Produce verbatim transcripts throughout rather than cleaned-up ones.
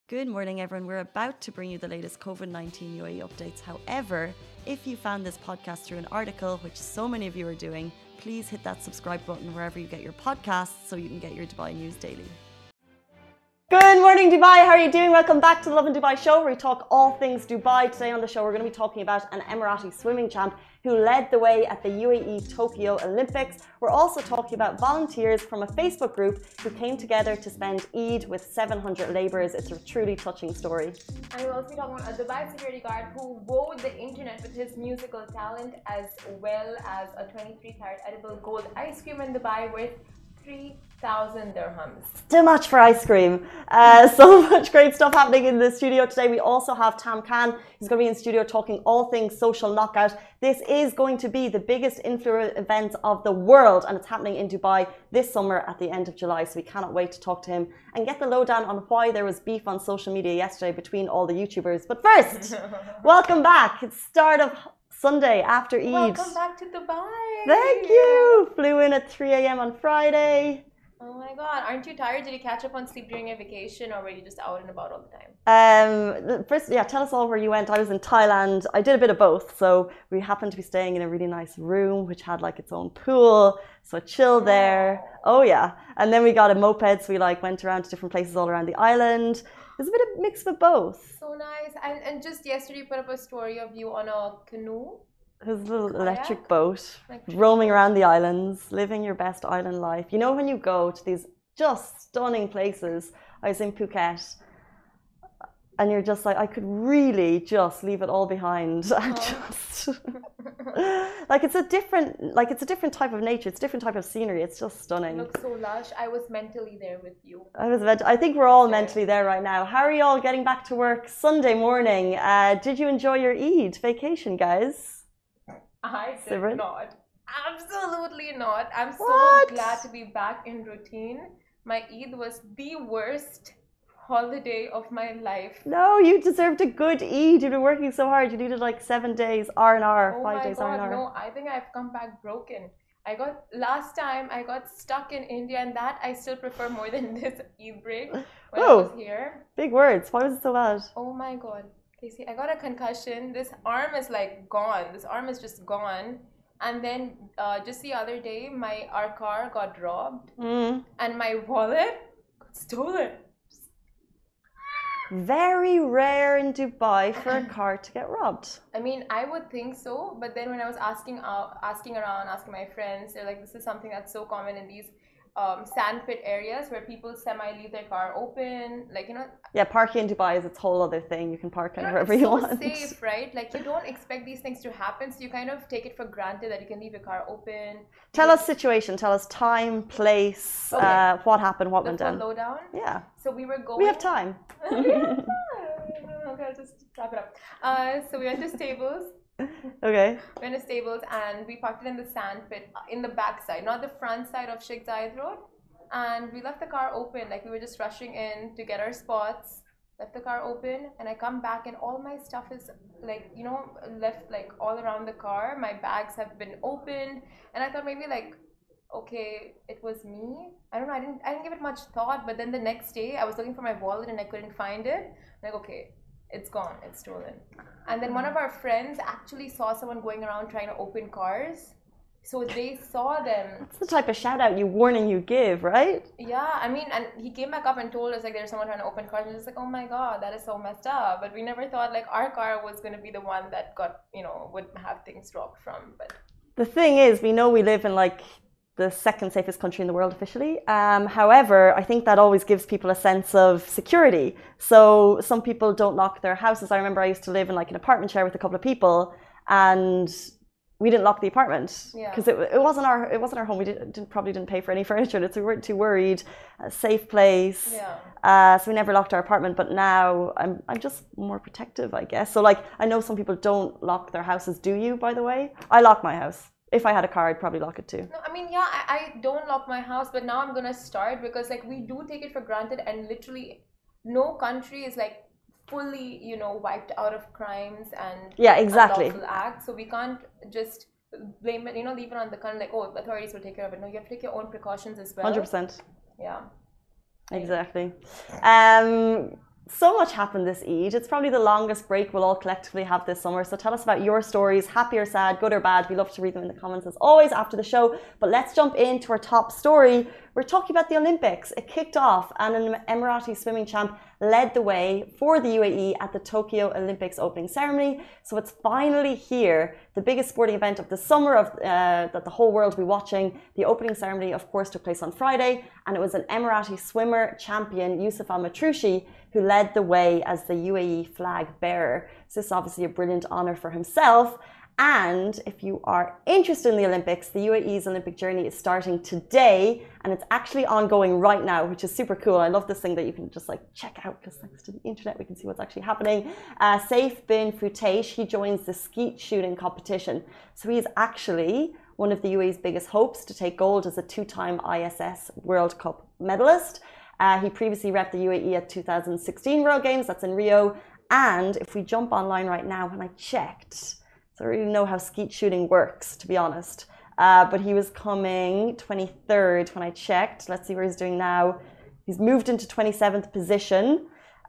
Good morning, everyone. We're about to bring you the latest COVID nineteen U A E updates. However, if you found this podcast through an article, which so many of you are doing, please hit that subscribe button wherever you get your podcasts so you can get your Dubai news daily. Good morning, Dubai. How are you doing? Welcome back to the Lovin Dubai show, where we talk all things Dubai. Today on the show, we're going to be talking about an Emirati swimming champ who led the way at the U A E Tokyo Olympics. We're also talking about volunteers from a Facebook group who came together to spend Eid with seven hundred labourers. It's a truly touching story. And we'll also be talking about a Dubai security guard who wowed the internet with his musical talent, as well as a twenty-three carat edible gold ice cream in Dubai worth three thousand dirhams. Too much for ice cream. Uh, so much great stuff happening in the studio today. We also have Tam Khan. He's going to be in studio talking all things social knockout. This is going to be the biggest influencer event of the world, and it's happening in Dubai this summer at the end of July. So we cannot wait to talk to him and get the lowdown on why there was beef on social media yesterday between all the YouTubers. But first, welcome back. It's start of Sunday after Eid. Welcome back to Dubai. Thank you. Flew in at three a m on Friday. Oh my God, aren't you tired? Did you catch up on sleep during your vacation, or were you just out and about all the time? Um, first, yeah, tell us all where you went. I was in Thailand. I did a bit of both. So we happened to be staying in a really nice room, which had like its own pool. So I chilled there. Oh yeah. And then we got a moped. So we like went around to different places all around the island. There's a bit of mix of both. So nice. And and just yesterday you put up a story of you on a canoe. His little Kayak? electric boat, Electric roaming boat. around the islands, living your best island life. You know, when you go to these just stunning places, I was in Phuket, and you're just like, I could really just leave it all behind and Oh. just like it's a different, like it's a different type of nature. It's a different type of scenery. It's just It stunning. looks so lush. I was mentally there with you. I was, meant I think we're all There. mentally there right now. How are you all getting back to work Sunday morning? Uh, did you enjoy your Eid vacation, guys? I did Simran? not. Absolutely not. I'm so What? glad to be back in routine. My Eid was the worst holiday of my life. No, you deserved a good Eid. You've been working so hard. You needed like seven days, R and R, Oh five my days R and God, R. no, I think I've come back broken. I got, last time I got stuck in India, and that I still prefer more than this Eid break when I Oh. was here. Big words. Why was it so bad? Oh my God. Casey, I got a concussion. This arm is like gone. This arm is just gone. And then uh, just the other day, my our car got robbed, Mm. and my wallet got stolen. Very rare in Dubai for a car to get robbed. I mean, I would think so, but then when I was asking out, asking around, asking my friends, they're like, this is something that's so common in these um, sandpit areas where people semi leave their car open, like, you know. Yeah, parking in Dubai is its whole other thing. You can park You know, wherever it's you so want. safe, right? Like, you don't expect these things to happen, so you kind of take it for granted that you can leave your car open. Tell us situation. Tell us time, place, Okay. uh, what happened, what The went full down. lowdown. Yeah, So we were going. we have time. Okay, I'll just wrap it up. Uh, so we went to Stables. Okay. We went to Stables and we parked it in the sand pit, uh, in the back side, not the front side of Sheikh Zayed Road. And we left the car open, like we were just rushing in to get our spots. Left the car open, and I come back and all my stuff is like, you know, left like all around the car. My bags have been opened, and I thought maybe like, okay, it was me. I don't know. I didn't. I didn't give it much thought. But then the next day, I was looking for my wallet and I couldn't find it. Like, okay, it's gone. It's stolen. And then one of our friends actually saw someone going around trying to open cars. So they saw them. That's the type of shout out you warning you give, right? Yeah, I mean, and he came back up and told us like there's someone trying to open cars, and it's like, oh my God, that is so messed up. But we never thought like our car was going to be the one that got, you know, would have things robbed from. But The thing is, we know we live in like the second safest country in the world officially. Um, however, I think that always gives people a sense of security. So some people don't lock their houses. I remember I used to live in like an apartment share with a couple of people, and we didn't lock the apartment Yeah. because it, it wasn't our it wasn't our home. We didn't, didn't probably didn't pay for any furniture, so we weren't too worried. A safe place. yeah. Uh, so we never locked our apartment, but now I'm I'm just more protective, I guess. So like I know some people don't lock their houses. Do you, by the way? I lock my house. If I had a car, I'd probably lock it too. No, I mean, yeah, I, I don't lock my house, but now I'm gonna start because like we do take it for granted, and literally no country is like fully, you know, wiped out of crimes and Yeah, exactly. unlawful acts. So we can't just blame it, you know, leave it on the country like, oh, authorities will take care of it. No, you have to take your own precautions as well. one hundred percent. Yeah. Exactly. Um, so much happened this Eid. It's probably the longest break we'll all collectively have this summer. So tell us about your stories, happy or sad, good or bad. We love to read them in the comments as always after the show. But let's jump into our top story. We're talking about the Olympics. It kicked off and an Emirati swimming champ led the way for the U A E at the Tokyo Olympics opening ceremony. So it's finally here, the biggest sporting event of the summer of uh, that the whole world will be watching. The opening ceremony, of course, took place on Friday, and it was an Emirati swimmer champion, Youssef Al Matroushi, who led the way as the U A E flag bearer. So this is obviously a brilliant honour for himself. And if you are interested in the Olympics, the U A E's Olympic journey is starting today, and it's actually ongoing right now, which is super cool. I love this thing that you can just like check out, because thanks to the internet we can see what's actually happening. Uh, Saif bin Futaish, he joins the skeet shooting competition. So he's actually one of the U A E's biggest hopes to take gold as a two-time I S S World Cup medalist. Uh, he previously repped the U A E at two thousand sixteen World Games, that's in Rio. And if we jump online right now, when I checked, I don't really know how skeet shooting works, to be honest. Uh, but he was coming twenty-third when I checked. Let's see where he's doing now. He's moved into twenty-seventh position.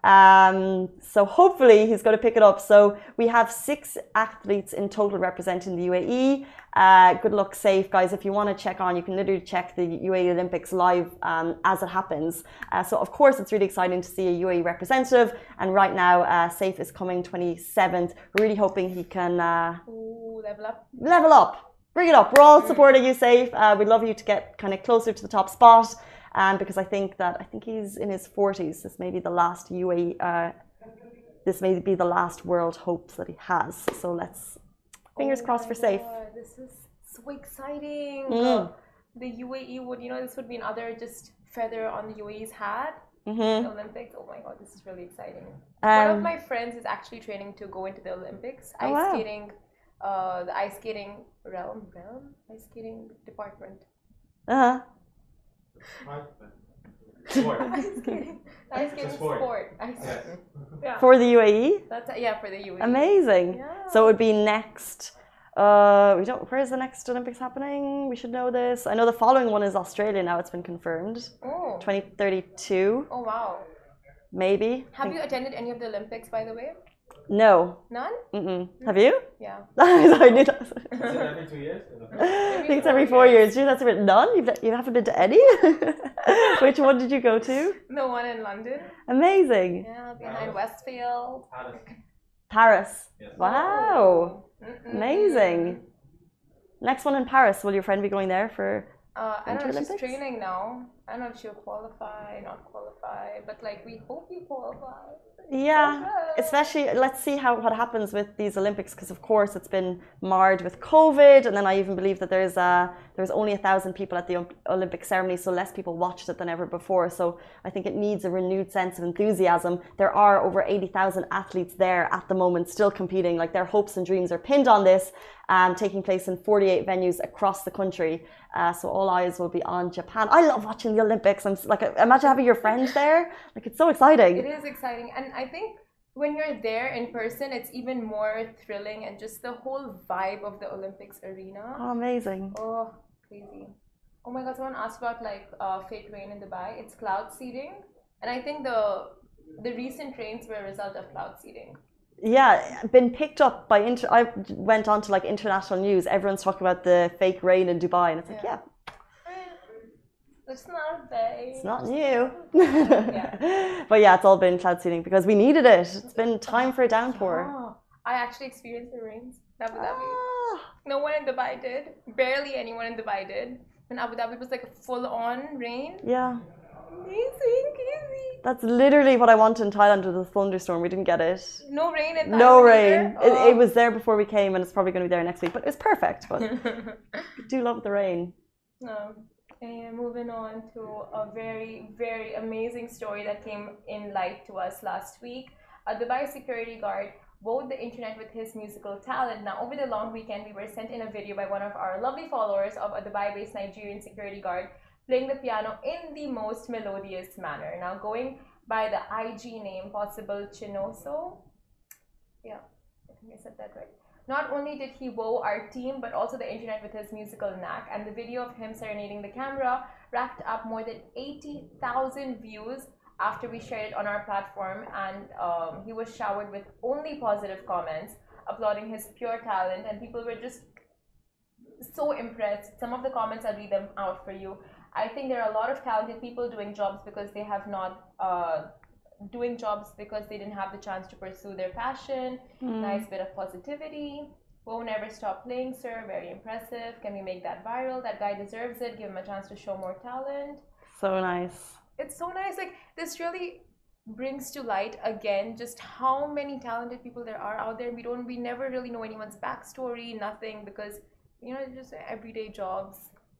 Um, so hopefully he's going to pick it up. So we have six athletes in total representing the U A E. Uh, good luck, Saif, guys. If you want to check on, you can literally check the U A E Olympics live um, as it happens. Uh, so of course it's really exciting to see a U A E representative. And right now, uh, Saif is coming twenty-seventh. We're really hoping he can uh, Ooh, level up. Level up. Bring it up. We're all supporting you, Saif. Uh, we'd love you to get kind of closer to the top spot. Um, because I think that I think he's in his forties. This may be the last U A E. Uh, this may be the last world hopes that he has. So let's fingers oh crossed for Saif. This is so exciting. Mm. Uh, the U A E would, you know, this would be another just feather on the U A E's hat. Mm-hmm. The Olympics. Oh my God, this is really exciting. Um, One of my friends is actually training to go into the Olympics. Oh, ice wow. skating, uh, the ice skating realm, realm, ice skating department. Uh huh. Sport. Ice skating, ice skating sport. sport. Ice skating. Yeah. For the U A E. That's yeah for the U A E. Amazing. Yeah. So it would be next. Uh, we don't. Where is the next Olympics happening? We should know this. I know the following one is Australia now. It's been confirmed. Oh. twenty thirty-two, Oh wow. maybe. Have you attended any of the Olympics, by the way? No. None? Mm-mm. Have you? Yeah. I knew that. Is it every two years? I think it's every four years. Gee, that's a bit none. You've, you haven't been to any? Which one did you go to? The one in London. Amazing. Yeah, behind Westfield. Paris. Yes. Wow. Mm-mm. Amazing. Next one in Paris. Will your friend be going there for? Uh, I don't know. Winter She's Olympics? training now. I don't know if she'll qualify, not qualify, but like we hope you qualify. Yeah, especially let's see how what happens with these Olympics, because of course it's been marred with COVID, and then I even believe that there's uh there's only a thousand people at the Olympic ceremony, so less people watched it than ever before. So I think it needs a renewed sense of enthusiasm. There are over eighty thousand athletes there at the moment, still competing. Like their hopes and dreams are pinned on this, um, taking place in forty-eight venues across the country. Uh, so all eyes will be on Japan. I love watching the Olympics. I'm like, imagine having your friends there. Like it's so exciting. It is exciting, and I think when you're there in person, it's even more thrilling, and just the whole vibe of the Olympics arena. Oh, amazing. Oh, crazy. Oh my God, someone asked about like uh, fake rain in Dubai. It's cloud seeding, and I think the the recent rains were a result of cloud seeding. Yeah, been picked up by inter. I went on to like international news. Everyone's talking about the fake rain in Dubai, and it's like, yeah, It's not bad. it's not new. Yeah. But yeah, it's all been cloud seeding because we needed it. It's been time for a downpour. Oh, I actually experienced the rains in Abu Dhabi. Ah, No one in Dubai did. Barely anyone in Dubai did. In Abu Dhabi, it was like a full-on rain. yeah, Amazing, crazy. that's literally what I wanted in Thailand with the thunderstorm. We didn't get it. No rain in No Thailand rain. either? It, Oh. it was there before we came, and it's probably going to be there next week. But it's perfect. But I do love the rain. Um, and moving on to a very, very amazing story that came in light to us last week. A Dubai security guard wowed the internet with his musical talent. Now, over the long weekend, we were sent in a video by one of our lovely followers of a Dubai-based Nigerian security guard playing the piano in the most melodious manner. Now, going by the I G name, Possible Chinoso. Yeah, I think I said that right. Not only did he wow our team, but also the internet with his musical knack, and the video of him serenading the camera racked up more than eighty thousand views after we shared it on our platform, and um, he was showered with only positive comments, applauding his pure talent, and people were just so impressed. Some of the comments, I'll read them out for you. I think there are a lot of talented people doing jobs because they have not uh, doing jobs because they didn't have the chance to pursue their passion. Mm. Nice bit of positivity. Won't never stop playing, sir. Very impressive. Can we make that viral? That guy deserves it. Give him a chance to show more talent. So nice. It's so nice. Like, this really brings to light again just how many talented people there are out there. We don't, we never really know anyone's backstory, nothing, because, you know, just everyday jobs.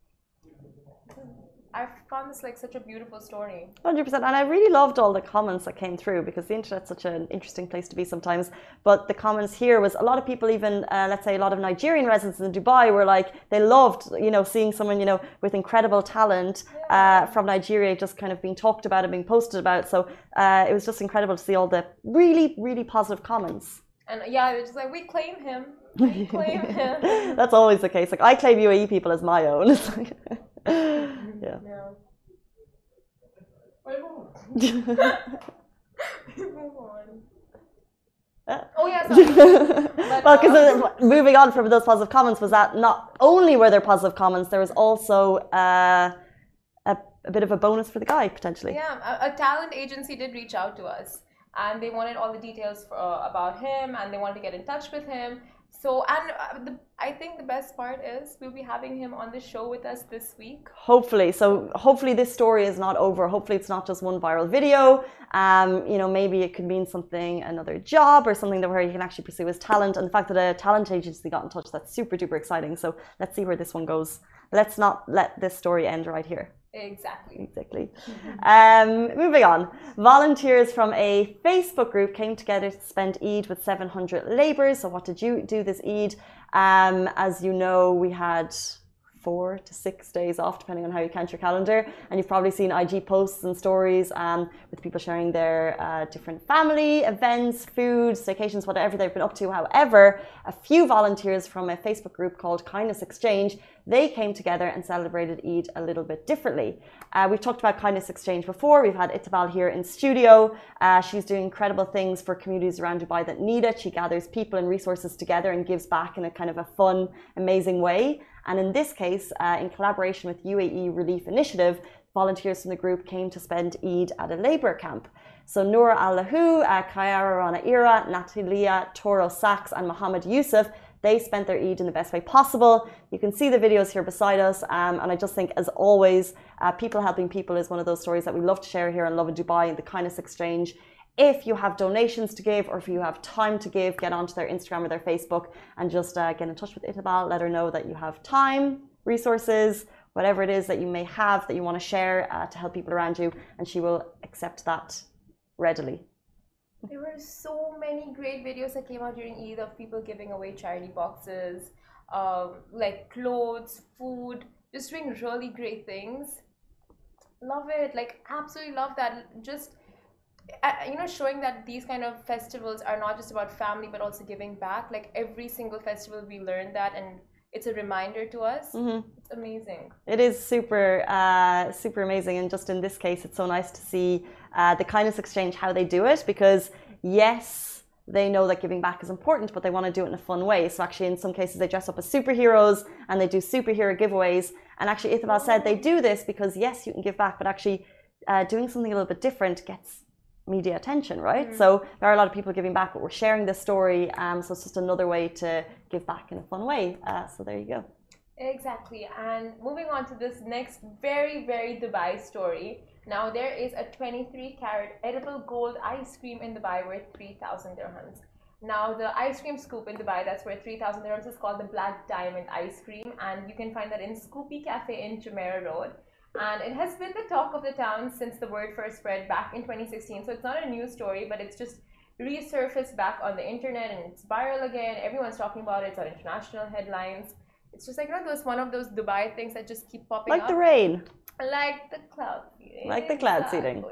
I found this like such a beautiful story. one hundred percent. And I really loved all the comments that came through, because the internet's such an interesting place to be sometimes. But the comments here was a lot of people, even uh, let's say a lot of Nigerian residents in Dubai, were like, they loved, you know, seeing someone, you know, with incredible talent uh, yeah. from Nigeria just kind of being talked about and being posted about. So uh, it was just incredible to see all the really, really positive comments. And yeah, they're just like, we claim him. We claim him. That's always the case. Like, I claim U A E people as my own. It's like, yeah. yeah. Move on. Uh, oh yeah, sorry. Well, because um, moving on from those positive comments was that not only were there positive comments, there was also uh, a, a bit of a bonus for the guy potentially. Yeah, a, a talent agency did reach out to us, and they wanted all the details for, uh, about him, and they wanted to get in touch with him. So, and uh, the, I think the best part is we'll be having him on the show with us this week. Hopefully. So hopefully this story is not over. Hopefully it's not just one viral video. Um, you know, maybe it could mean something, another job or something that where you can actually pursue his talent. And the fact that a talent agency got in touch, that's super duper exciting. So let's see where this one goes. Let's not let this story end right here. Exactly. Exactly. Um, moving on. Volunteers from a Facebook group came together to spend Eid with seven hundred labourers. So what did you do this Eid? Um, as you know, we had four to six days off, depending on how you count your calendar. And you've probably seen I G posts and stories um, with people sharing their uh, different family events, food, staycations, whatever they've been up to. However, a few volunteers from a Facebook group called Kindness Exchange, they came together and celebrated Eid a little bit differently. Uh, we've talked about Kindness Exchange before. We've had Itabal here in studio. Uh, she's doing incredible things for communities around Dubai that need it. She gathers people and resources together and gives back in a kind of a fun, amazing way. And in this case, uh, in collaboration with U A E Relief Initiative, volunteers from the group came to spend Eid at a labour camp. So Noor Al-Lahu, uh, Kayara Rana Ira, Natalia Toro Sachs and Mohammed Yusuf, they spent their Eid in the best way possible. You can see the videos here beside us. Um, and I just think, as always, uh, people helping people is one of those stories that we love to share here on Lovin Dubai and the Kindness Exchange. If you have donations to give or if you have time to give, get onto their Instagram or their Facebook and just uh, get in touch with Itabal. Let her know that you have time, resources, whatever it is that you may have that you want to share uh, to help people around you, and she will accept that readily. There were so many great videos that came out during Eid of people giving away charity boxes, um, like clothes, food, just doing really great things. Love it. Like, absolutely love that. Just, uh, you know, showing that these kind of festivals are not just about family, but also giving back. Like, every single festival we learn that, and it's a reminder to us. Mm-hmm. It's amazing. It is super, uh, super amazing. And just in this case, it's so nice to see uh, the Kindness Exchange, how they do it, because yes, they know that giving back is important, but they want to do it in a fun way. So actually, in some cases, they dress up as superheroes and they do superhero giveaways. And actually, Itabal said they do this because yes, you can give back, but actually uh, doing something a little bit different gets media attention, right? Mm-hmm. So there are a lot of people giving back, but we're sharing this story. Um, so it's just another way to give back in a fun way. Uh, so there you go. Exactly. And moving on to this next very, very Dubai story. Now, there is a twenty-three carat edible gold ice cream in Dubai worth three thousand dirhams. Now, the ice cream scoop in Dubai that's worth three thousand dirhams is called the Black Diamond Ice Cream. And you can find that in Scoopy Cafe in Jumeirah Road. And it has been the talk of the town since the word first spread back in twenty sixteen. So it's not a new story, but it's just resurfaced back on the internet and it's viral again. Everyone's talking about it. It's on international headlines. It's just like, you know, those one of those Dubai things that just keep popping like up. Like the rain. Like the cloud seeding. Like the cloud seeding.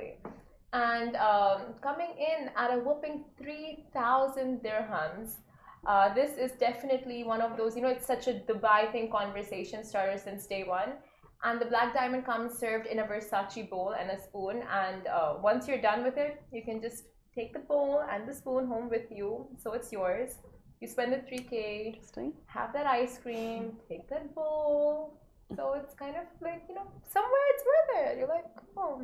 And um, coming in at a whopping three thousand dirhams. Uh, this is definitely one of those, you know, it's such a Dubai thing conversation starter since day one. And the black diamond comes served in a Versace bowl and a spoon. And uh, once you're done with it, you can just take the bowl and the spoon home with you. So it's yours. You spend the three K, Interesting. have that ice cream, take that bowl. So it's kind of like, you know, somewhere it's worth it. You're like, oh,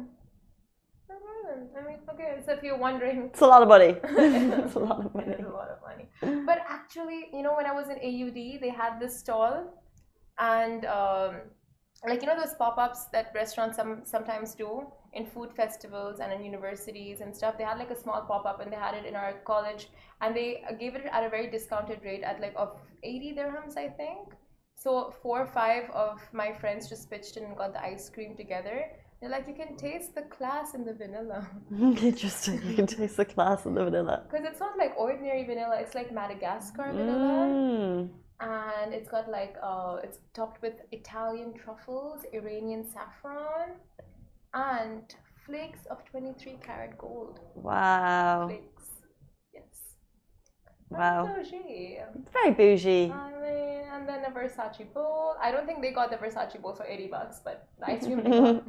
I mean, okay, so if you're wondering. It's a lot of money. It's a lot of money. It is a lot of money. But actually, you know, when I was in A U D, they had this stall and um, like, you know, those pop-ups that restaurants some, sometimes do in food festivals and in universities and stuff. They had like a small pop-up and they had it in our college and they gave it at a very discounted rate at like of eighty dirhams, I think. So four or five of my friends just pitched in and got the ice cream together. They're like, you can taste the class in the vanilla. Interesting. You can taste the class in the vanilla. Because it's not like ordinary vanilla. It's like Madagascar vanilla. Mm. And it's got like, uh, it's topped with Italian truffles, Iranian saffron, and flakes of twenty-three karat gold. Wow. Flakes. Yes. Wow. Bougie. It's very bougie. I mean, and then a Versace bowl. I don't think they got the Versace bowl for eighty bucks, but the ice cream they got.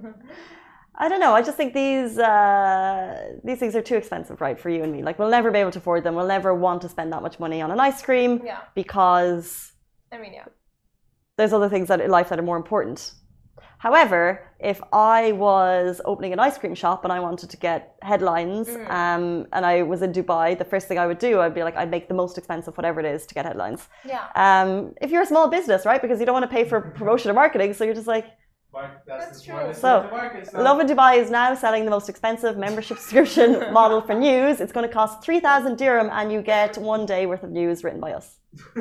I don't know. I just think these uh, these things are too expensive, right, for you and me. Like, we'll never be able to afford them. We'll never want to spend that much money on an ice cream. Yeah. Because I mean, yeah. there's other things that in life that are more important. However, if I was opening an ice cream shop and I wanted to get headlines, mm. um, and I was in Dubai, the first thing I would do, I'd be like, I'd make the most expensive whatever it is to get headlines. Yeah. Um, if you're a small business, right, because you don't want to pay for promotion or marketing, so you're just like. That's, That's true. So, market, so, Lovin Dubai is now selling the most expensive membership subscription model for news. It's going to cost three thousand dirham and you get one day worth of news written by us.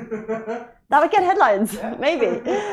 That would get headlines, yeah. Maybe.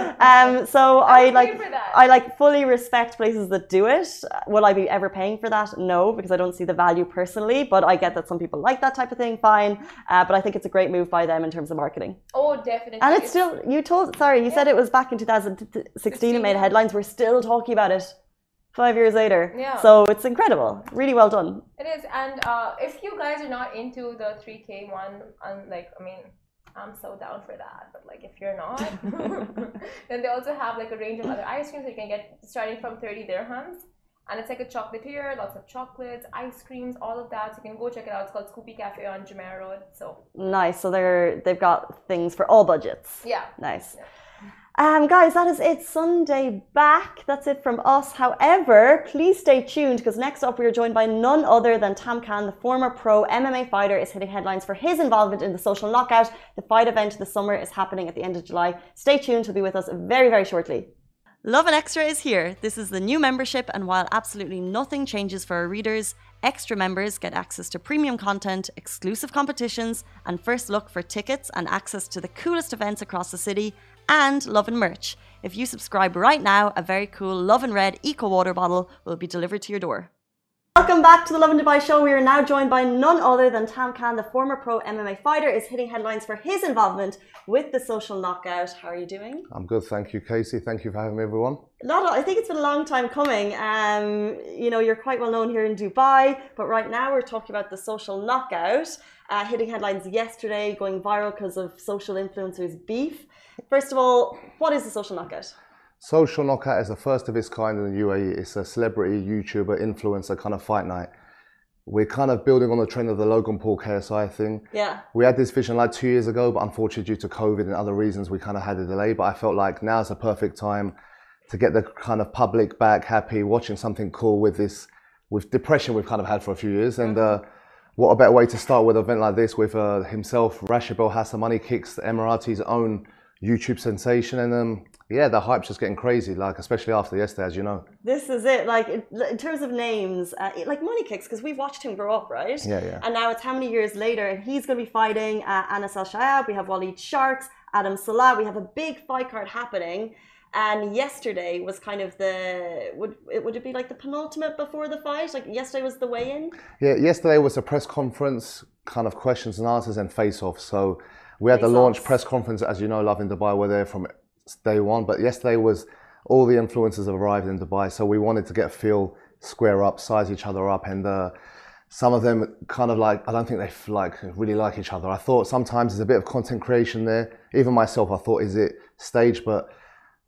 Um, so I like, I like fully respect places that do it. Will I be ever paying for that? No, because I don't see the value personally. But I get that some people like that type of thing. Fine, uh, but I think it's a great move by them in terms of marketing. Oh, definitely. And it's, it's still. You told. Sorry, you yeah. said it was back in two thousand sixteen. It made headlines. We're still talking about it five years later. Yeah. So it's incredible. Really well done. It is, and uh, if you guys are not into the three K one, and like, I mean. I'm so down for that, but like if you're not, then they also have like a range of other ice creams that you can get starting from thirty dirhams, and it's like a chocolatier, lots of chocolates, ice creams, all of that. So you can go check it out. It's called Scoopy Cafe on Jumeirah Road. So nice. So they're they've got things for all budgets. Yeah. Nice. Yeah. Um, guys, that is it. Sunday back. That's it from us. However, please stay tuned because next up we are joined by none other than Tam Khan, the former pro M M A fighter, is hitting headlines for his involvement in the Social Knockout. The fight event this summer is happening at the end of July. Stay tuned. He'll be with us very, very shortly. Lovin Extra is here. This is the new membership, and while absolutely nothing changes for our readers, extra members get access to premium content, exclusive competitions, and first look for tickets and access to the coolest events across the city, and Lovin merch. If you subscribe right now, a very cool Lovin Red Eco Water bottle will be delivered to your door. Welcome back to the Lovin Dubai show. We are now joined by none other than Tam Khan, the former pro M M A fighter, is hitting headlines for his involvement with the Social Knockout. How are you doing? I'm good, thank you, Casey. Thank you for having me, everyone. Not, I think it's been a long time coming. Um, you know, you're quite well known here in Dubai, but right now we're talking about the Social Knockout, uh, hitting headlines yesterday, going viral because of social influencers' beef. First of all, what is the Social Knockout? Social Knockout is the first of its kind in the U A E. It's a celebrity, YouTuber, influencer kind of fight night. We're kind of building on the trend of the Logan Paul K S I thing. Yeah. We had this vision like two years ago, but unfortunately due to COVID and other reasons, we kind of had a delay. But I felt like now's a perfect time to get the kind of public back happy, watching something cool with this, with depression we've kind of had for a few years. And uh, what a better way to start with an event like this with uh, himself, Rashid Belhassa, Money Kicks, the Emiratis' own YouTube sensation, and um, yeah, the hype's just getting crazy, like especially after yesterday, as you know. This is it, like in, in terms of names, uh, like Money Kicks, because we've watched him grow up, right? Yeah, yeah. And now it's how many years later, and he's going to be fighting uh, Anas Al Shayab, we have Waleed Sharks, Adam Salah, we have a big fight card happening. And yesterday was kind of the, would it, would it be like the penultimate before the fight? Like yesterday was the weigh-in? Yeah, yesterday was a press conference, kind of questions and answers and face-off. So we had face the launch offs. press conference, as you know, Lovin Dubai were there from day one. But yesterday was, all the influencers have arrived in Dubai. So we wanted to get a feel, square up, size each other up. And uh, some of them kind of like, I don't think they like really like each other. I thought sometimes there's a bit of content creation there. Even myself, I thought, is it staged? But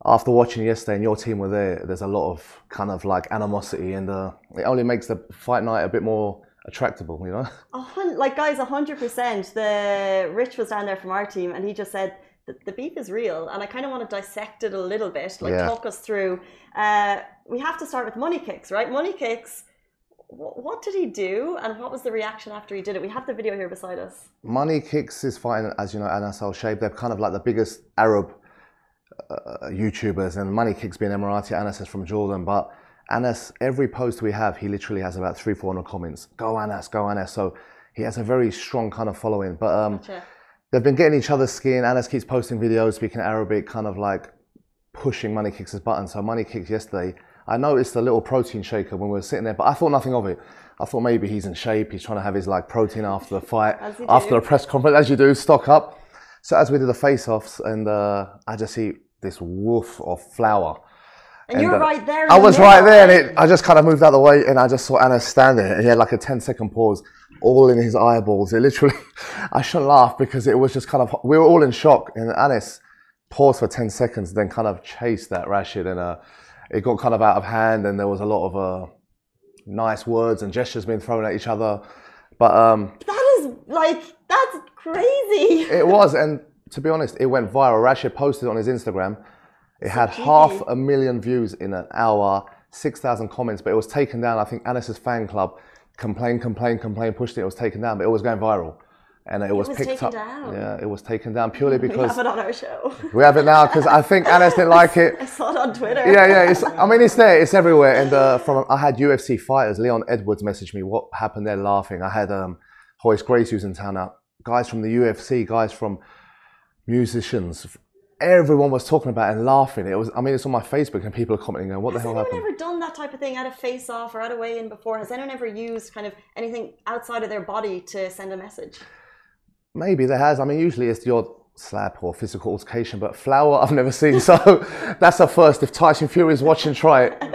after watching yesterday and your team were there, there's a lot of kind of like animosity, and uh, it only makes the fight night a bit more attractable, you know? A hun- like guys, a hundred percent. The Rich was down there from our team, and he just said the, the beef is real, and I kind of want to dissect it a little bit, like Yeah. talk us through. Uh, we have to start with Money Kicks, right? Money Kicks. wh- What did he do, and what was the reaction after he did it? We have the video here beside us. Money Kicks is fighting, as you know, Anas Al Shaib. They're kind of like the biggest Arab uh, YouTubers, and Money Kicks being Emirati, Anas is from Jordan. But Anas, every post we have, he literally has about three, four hundred comments. Go Anas, go Anas. So he has a very strong kind of following. But um, Gotcha. they've been getting each other's skin. Anas keeps posting videos, speaking Arabic, kind of like pushing Money Kicks' button. So Money Kicks yesterday, I noticed a little protein shaker when we were sitting there, but I thought nothing of it. I thought maybe he's in shape, he's trying to have his like protein after the fight, As you after do. a press conference, as you do, stock up. So as we did the face-offs, and uh, I just see this woof of flour. And, you're uh, right there. in I the was middle, right there, and it, I just kind of moved out of the way, and I just saw Anas stand there, and he had like a ten second pause, all in his eyeballs. It literally, I shouldn't laugh because it was just kind of, we were all in shock, and Anas paused for ten seconds, then kind of chased that Rashid, and uh, it got kind of out of hand, and there was a lot of uh, nice words and gestures being thrown at each other. But um, That is like, that's crazy. it was, and to be honest, it went viral. Rashid posted on his Instagram. It had cheeky. half a million views in an hour, six thousand comments, but it was taken down. I think Anis's fan club complained, complained, complained, pushed it. It was taken down, but it was going viral. And it, was, was picked taken up. down. Yeah, it was taken down purely We because have it on our show. we have it now because I think Anis didn't like it. I saw it on Twitter. Yeah, yeah. It's, I mean, it's there. It's everywhere. And uh, from I had U F C fighters. Leon Edwards messaged me what happened there, laughing. I had um, Horace Gracie who's in town now. Guys from the U F C, guys from musicians. Everyone was talking about it and laughing. It was. I mean, it's on my Facebook and people are commenting, going, "What the Has hell anyone happened?" ever done that type of thing at a face-off or at a weigh-in before? Has anyone ever used kind of anything outside of their body to send a message? Maybe there has. I mean, usually it's the odd slap or physical altercation, but flour I've never seen. So that's a first. If Tyson Fury is watching, try it.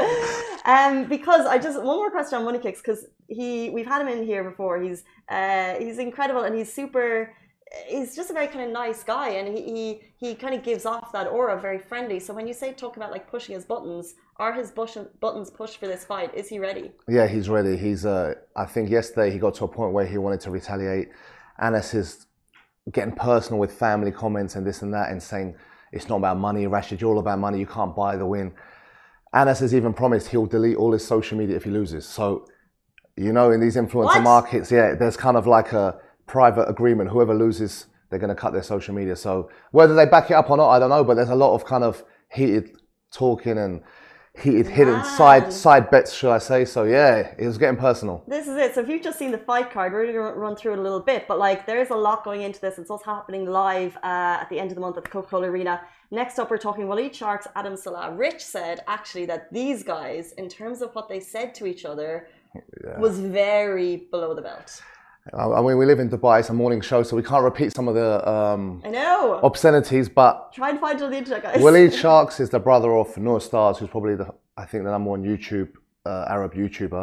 Um, because I just one more question on Money Kicks, because he we've had him in here before. He's uh, he's incredible, and he's super. He's just a very kind of nice guy, and he he, he kind of gives off that aura, very friendly. So when you say talk about like pushing his buttons, are his bush, buttons pushed for this fight? Is he ready? Yeah, he's ready. He's. Uh, I think yesterday he got to a point where he wanted to retaliate. Anas is getting personal with family comments and this and that, and saying it's not about money, Rashid. You're all about money. You can't buy the win. Anas has even promised he'll delete all his social media if he loses. So, you know, in these influencer What? markets, yeah, there's kind of like a private agreement. Whoever loses, they're going to cut their social media. So whether they back it up or not, I don't know. But there's a lot of kind of heated talking and heated hidden Man. side side bets, should I say? So yeah, it was getting personal. This is it. So if you've just seen the fight card, we're going to run through it a little bit. But like, there's a lot going into this. It's also happening live uh, at the end of the month at the Coca-Cola Arena. Next up, we're talking Waleed Sharks, Adam Salah. Rich said actually that these guys, in terms of what they said to each other, Yeah. was very below the belt. I mean, we live in Dubai. It's a morning show, so we can't repeat some of the um, I know. obscenities. But Try and find it on the internet, guys. Waleed Sharks is the brother of Noor Stars, who's probably the I think the number one YouTube uh, Arab YouTuber.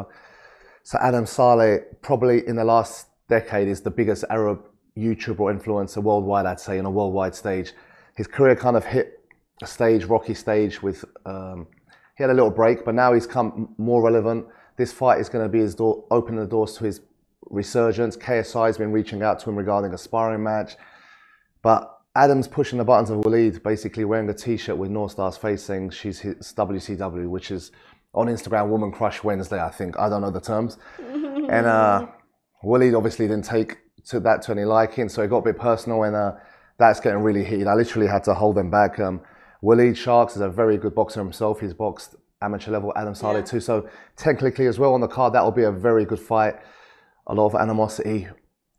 So Adam Saleh, probably in the last decade, is the biggest Arab YouTuber or influencer worldwide. I'd say on a worldwide stage. His career kind of hit a stage, rocky stage. With um, he had a little break, but now he's come more relevant. This fight is going to be his door, opening the doors to his resurgence. K S I has been reaching out to him regarding a sparring match, but Adam's pushing the buttons of Waleed, basically wearing a T-shirt with North Star's face saying she's his W C W, which is on Instagram Woman Crush Wednesday, I think. I don't know the terms. And uh, Waleed obviously didn't take to that to any liking, so it got a bit personal, and uh, that's getting really heated. I literally had to hold them back. Um, Waleed Sharks is a very good boxer himself. He's boxed amateur level, Adam Saleh Yeah. too. So technically as well on the card, that will be a very good fight. A lot of animosity.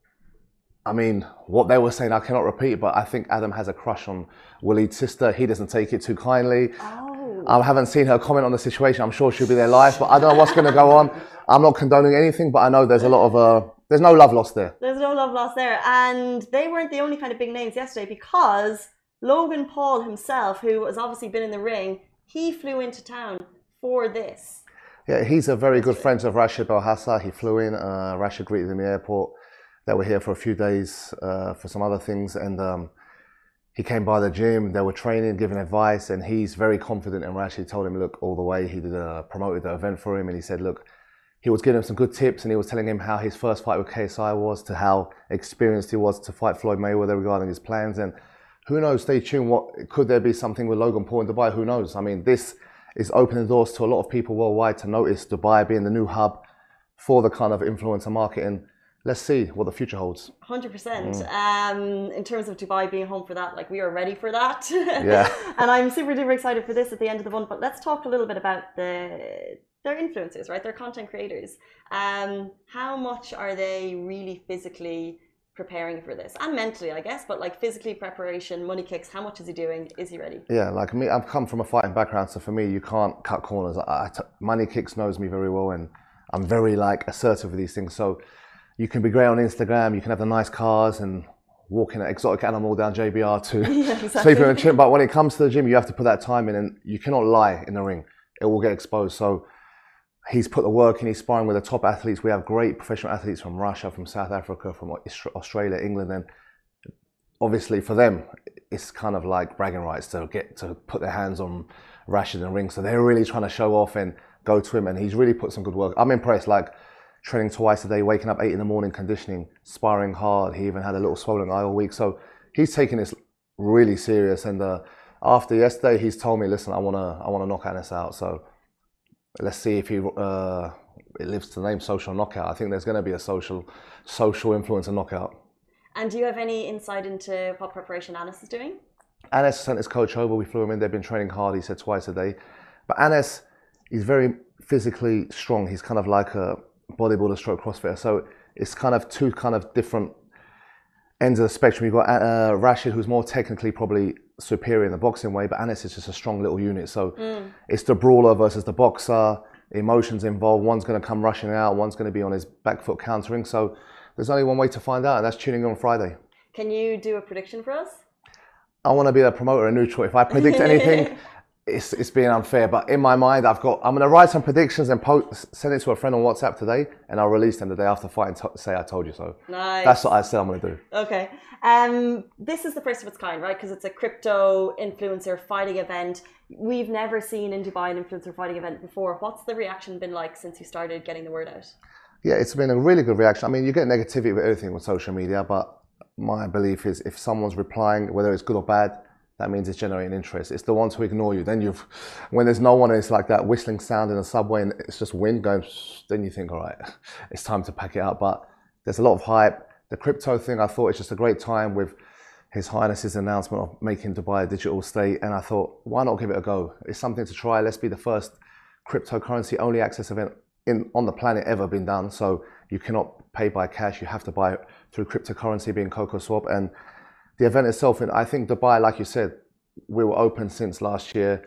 I mean, what they were saying, I cannot repeat, but I think Adam has a crush on Waleed's sister. He doesn't take it too kindly. Oh. I haven't seen her comment on the situation. I'm sure she'll be there live, but I don't know what's going to go on. I'm not condoning anything, but I know there's a lot of, uh, there's no love lost there. There's no love lost there. And they weren't the only kind of big names yesterday, because Logan Paul himself, who has obviously been in the ring, he flew into town for this. Yeah, he's a very good friend of Rashid Belhassa. He flew in. Uh, Rashid greeted him in the airport. They were here for a few days uh, for some other things, and um, he came by the gym, they were training, giving advice, and he's very confident in Rash. He told him, look, all the way. He did a, promoted the event for him, and he said, look, he was giving him some good tips, and he was telling him how his first fight with K S I was, to how experienced he was to fight Floyd Mayweather regarding his plans. And who knows, stay tuned. What could there be something with Logan Paul in Dubai? Who knows? I mean, this is opening doors to a lot of people worldwide to notice Dubai being the new hub for the kind of influencer marketing. Let's see what the future holds. one hundred percent. Mm. Um, in terms of Dubai being home for that, like we are ready for that. Yeah. And I'm super duper excited for this at the end of the month. But let's talk a little bit about the their influencers, right? They're content creators. Um, how much are they really physically preparing for this? And mentally, I guess, but like physically preparation, Money Kicks, how much is he doing? Is he ready? Yeah, like me, I've come from a fighting background. So for me, you can't cut corners. I, I t- Money Kicks knows me very well, and I'm very like assertive with these things. So you can be great on Instagram, you can have the nice cars and walking an exotic animal down J B R to yeah, exactly. sleeping in the gym. But when it comes to the gym, you have to put that time in, and you cannot lie in the ring. It will get exposed. So he's put the work in, he's sparring with the top athletes. We have great professional athletes from Russia, from South Africa, from Australia, England. And obviously for them, it's kind of like bragging rights to get to put their hands on Rashid in the ring. So they're really trying to show off and go to him. And he's really put some good work. I'm impressed. Like, training twice a day, waking up eight in the morning, conditioning, sparring hard. He even had a little swollen eye all week. So he's taking this really serious. And uh, after yesterday, he's told me, listen, I want to I want to knock Anas out. So let's see if he uh, it lives to the name social knockout. I think there's going to be a social social influencer knockout. And do you have any insight into what preparation Anas is doing? Anas sent his coach over. We flew him in. They've been training hard, he said, twice a day. But Anas is very physically strong. He's kind of like a bodybuilder stroke CrossFitter. So it's kind of two kind of different ends of the spectrum. You've got uh, Rashid, who's more technically probably superior in the boxing way, but Anas is just a strong little unit. So mm. it's the brawler versus the boxer, emotions involved. One's going to come rushing out, one's going to be on his back foot countering. So there's only one way to find out, and that's tuning in on Friday. Can you do a prediction for us? I want to be a promoter, a neutral. If I predict anything, It's, it's being unfair, but in my mind, I've got, I'm going to write some predictions and post, send it to a friend on WhatsApp today, and I'll release them the day after fight and t- say I told you so. Nice. That's what I said I'm going to do. Okay. Um, this is the first of its kind, right? Because it's a crypto influencer fighting event. We've never seen in Dubai an influencer fighting event before. What's the reaction been like since you started getting the word out? Yeah, it's been a really good reaction. I mean, you get negativity with everything with social media, but my belief is if someone's replying, whether it's good or bad, that means it's generating interest. It's the ones who ignore you. Then you've, when there's no one, it's like that whistling sound in a subway and it's just wind going, then you think, all right, it's time to pack it up. But there's a lot of hype. The crypto thing, I thought it's just a great time with His Highness's announcement of making Dubai a digital state. And I thought, why not give it a go? It's something to try. Let's be the first cryptocurrency only access event in on the planet ever been done. So you cannot pay by cash. You have to buy it through cryptocurrency, being CocoSwap. And the event itself, and I think Dubai, like you said, we were open since last year.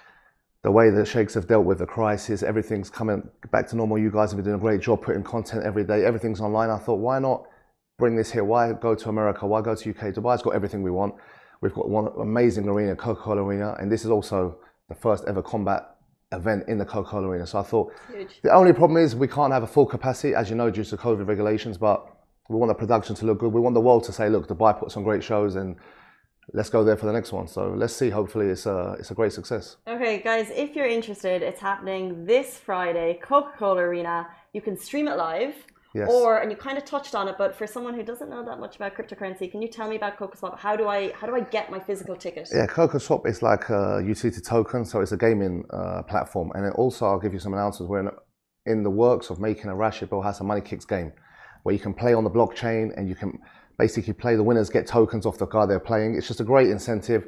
The way the sheikhs have dealt with the crisis, everything's coming back to normal. You guys have been doing a great job putting content every day. Everything's online. I thought, why not bring this here? Why go to America? Why go to U K? Dubai's got everything we want. We've got one amazing arena, Coca-Cola Arena, and this is also the first ever combat event in the Coca-Cola Arena. So I thought, huge. The only problem is we can't have a full capacity, as you know, due to COVID regulations, but we want the production to look good. We want the world to say, look, Dubai puts on great shows and let's go there for the next one. So let's see. Hopefully it's a, it's a great success. Okay, guys, if you're interested, it's happening this Friday, Coca-Cola Arena. You can stream it live. Yes. Or, and you kind of touched on it, but for someone who doesn't know that much about cryptocurrency, can you tell me about CocoSwap? How do I how do I get my physical ticket? Yeah, CocoSwap is like a utility token, so it's a gaming uh, platform. And then also, I'll give you some announcements. We're in, in the works of making a Rashid Bel Hassan Money Kicks game, where you can play on the blockchain and you can basically play the winners, get tokens off the guy they're playing. It's just a great incentive.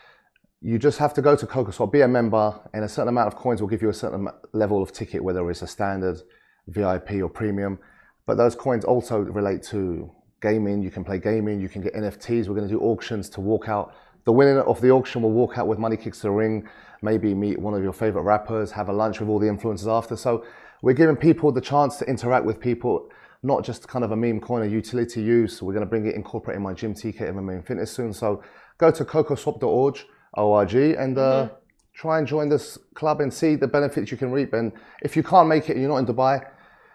You just have to go to CocoSwap, be a member, and a certain amount of coins will give you a certain level of ticket, whether it's a standard, V I P or premium. But those coins also relate to gaming. You can play gaming, you can get N F Ts. We're going to do auctions to walk out. The winner of the auction will walk out with Money Kicks to the ring, maybe meet one of your favorite rappers, have a lunch with all the influencers after. So we're giving people the chance to interact with people, not just kind of a meme coin, a utility use. We're going to bring it, incorporate in my gym, T K M M A and fitness soon. So go to cocoswap dot org and uh, mm-hmm. try and join this club and see the benefits you can reap. And if you can't make it and you're not in Dubai,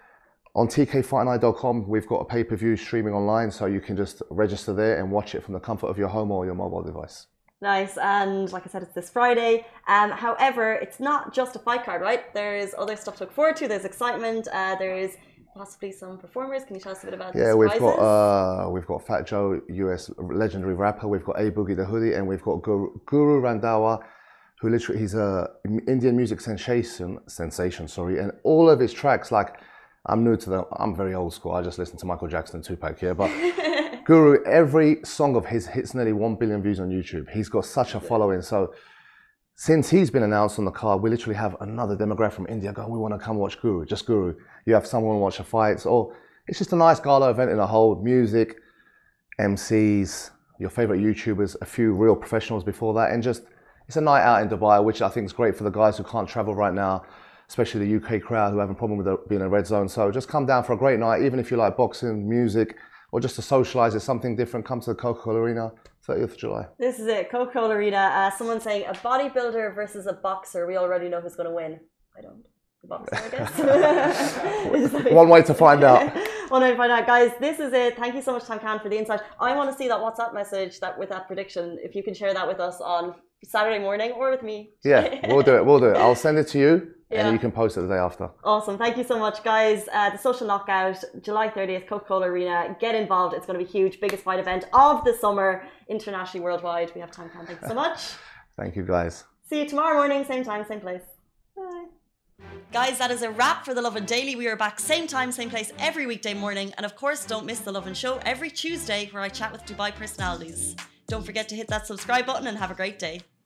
On T K fight night dot com, we've got a pay-per-view streaming online, so you can just register there and watch it from the comfort of your home or your mobile device. Nice, and like I said, it's this Friday. Um, however, it's not just a fight card, right? There's other stuff to look forward to. There's excitement. Uh, there's possibly some performers. Can you tell us a bit about? Yeah, the we've got uh, we've got Fat Joe, U S legendary rapper. We've got A Boogie the Hoodie, and we've got Guru, Guru Randhawa, who literally he's a Indian music sensation. Sensation, sorry, and all of his tracks. Like, I'm new to them. I'm very old school. I just listen to Michael Jackson and Tupac here, but. Guru, every song of his hits nearly one billion views on YouTube. He's got such a following. So since he's been announced on the card, we literally have another demographic from India going, we want to come watch Guru, just Guru. You have someone watch the fights, or it's just a nice gala event in a whole. Music, M Cs, your favorite YouTubers, a few real professionals before that, and just, it's a night out in Dubai, which I think is great for the guys who can't travel right now, especially the U K crowd who have a problem with the, being in a red zone. So just come down for a great night, even if you like boxing, music, or just to socialise, it's something different. Come to the Coca-Cola Arena, thirtieth of July. This is it, Coca-Cola Arena. Uh, someone saying a bodybuilder versus a boxer. We already know who's going to win. I don't. The boxer, I guess. like, One way to find out. One way to find out. Guys, this is it. Thank you so much, Tam Khan, for the insight. I want to see that WhatsApp message that with that prediction. If you can share that with us on Saturday morning or with me. Yeah, we'll do it. We'll do it. I'll send it to you. Yeah. And you can post it the day after. Awesome. Thank you so much, guys. Uh, the Social Knockout, July thirtieth, Coca-Cola Arena. Get involved. It's going to be huge. Biggest fight event of the summer, internationally, worldwide. We have Tam Khan. Thank you so much. Thank you, guys. See you tomorrow morning, same time, same place. Bye. Guys, that is a wrap for The Lovin Daily. We are back same time, same place every weekday morning. And of course, don't miss The Lovin Show every Tuesday where I chat with Dubai personalities. Don't forget to hit that subscribe button and have a great day.